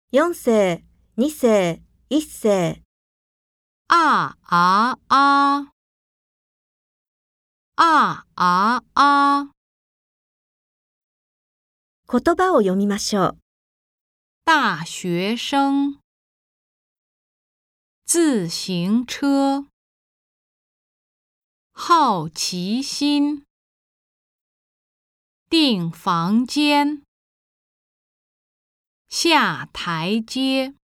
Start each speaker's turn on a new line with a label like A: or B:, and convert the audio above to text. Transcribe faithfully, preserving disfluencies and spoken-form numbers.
A: 四世、二世、一世。
B: 啊啊啊啊啊啊。
A: 言葉を読みましょう。
B: 大学生。自行车。好奇心。订房间。下台阶。